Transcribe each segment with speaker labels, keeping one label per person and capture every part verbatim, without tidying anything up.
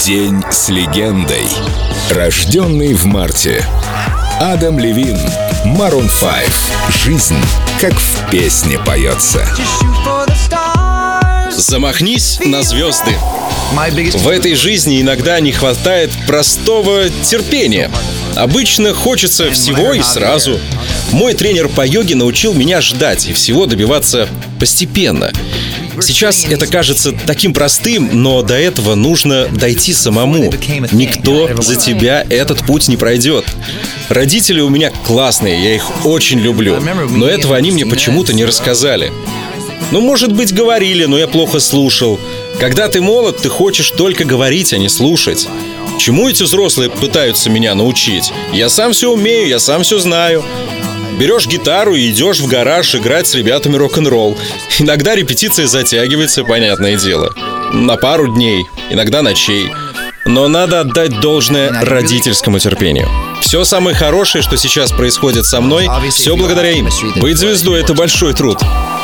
Speaker 1: День с легендой. Рожденный в марте. Адам Левин, Maroon пять. Жизнь, как в песне поется.
Speaker 2: Замахнись на звезды. В этой жизни иногда не хватает простого терпения. Обычно хочется всего и сразу. Мой тренер по йоге научил меня ждать и всего добиваться постепенно. Сейчас это кажется таким простым, но до этого нужно дойти самому. Никто за тебя этот путь не пройдет. Родители у меня классные, я их очень люблю, но этого они мне почему-то не рассказали. Ну, может быть, говорили, но я плохо слушал. Когда ты молод, ты хочешь только говорить, а не слушать. Чему эти взрослые пытаются меня научить? Я сам все умею, я сам все знаю. Берешь гитару и идешь в гараж играть с ребятами рок-н-ролл. Иногда репетиция затягивается, понятное дело. На пару дней, иногда ночей. Но надо отдать должное родительскому терпению. Все самое хорошее, что сейчас происходит со мной, все благодаря им. Быть звездой — это большой труд.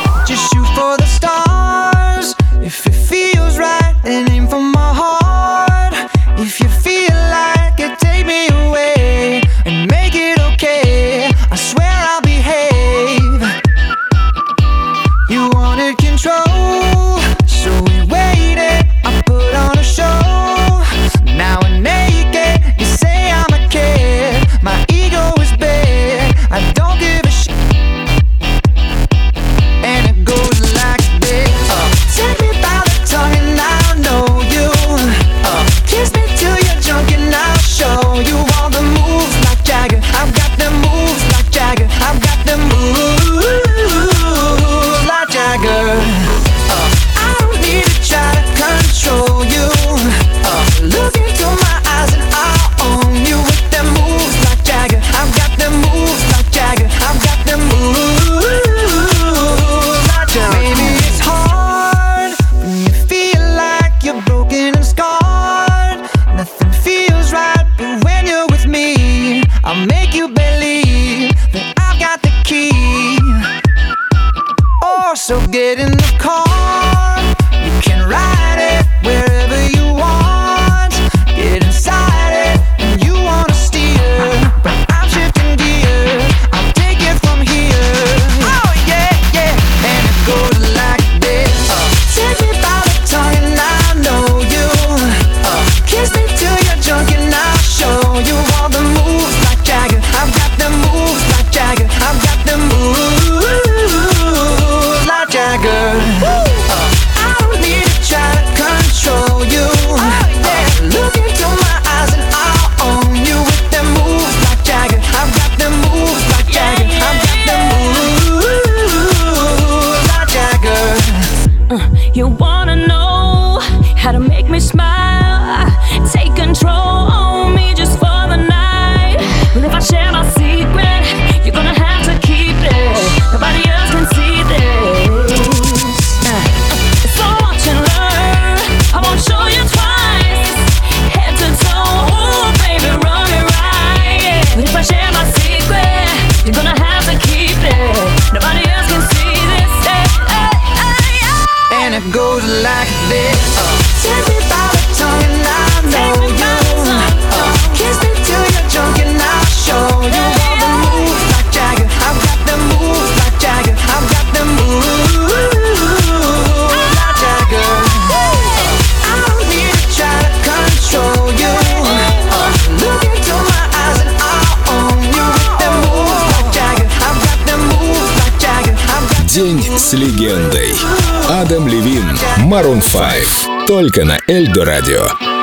Speaker 3: I'll make you believe that I've got the key. Oh, so get in the car. You can ride it wherever you want. Get inside it and you wanna steer, but I'm shifting gears. I'll take it from here. Oh yeah, yeah. And it goes like this. uh, Take me by the tongue and I know you. uh, Kiss me till you're drunk and I'll show you all the moves like Jagger. I've got them moves like Jagger. I've got them moves like Jagger. uh, I don't need to try to control you. oh, yeah. Look into my eyes and I'll own you with them moves like Jagger. I've got them moves like Jagger. I've got them moves like Jagger.
Speaker 4: Uh, you wanna know how to make me smile? Take control on me just for the night. But if I share my secret, you're gonna have to keep it. Nobody else can see this. Uh, so watch and learn. I won't show you twice. Head to toe, ooh, baby, run it right. But if I share my secret, you're gonna have to keep it. Nobody else can see this. Hey, hey, hey, hey.
Speaker 3: And it goes like this. uh, Take me by the tongue and I know you. uh, Kiss me till you're drunk and I'll show you all the moves like Jagger. I've got them moves like Jagger. I've got them moves like Jagger. uh, I don't need to try to control you. uh, Look into my eyes and I'll own you with them moves like Jagger. I've got them moves like Jagger. I've got
Speaker 1: День с легендой. Адам Левин, Maroon пять. Только на Эльдо Радио.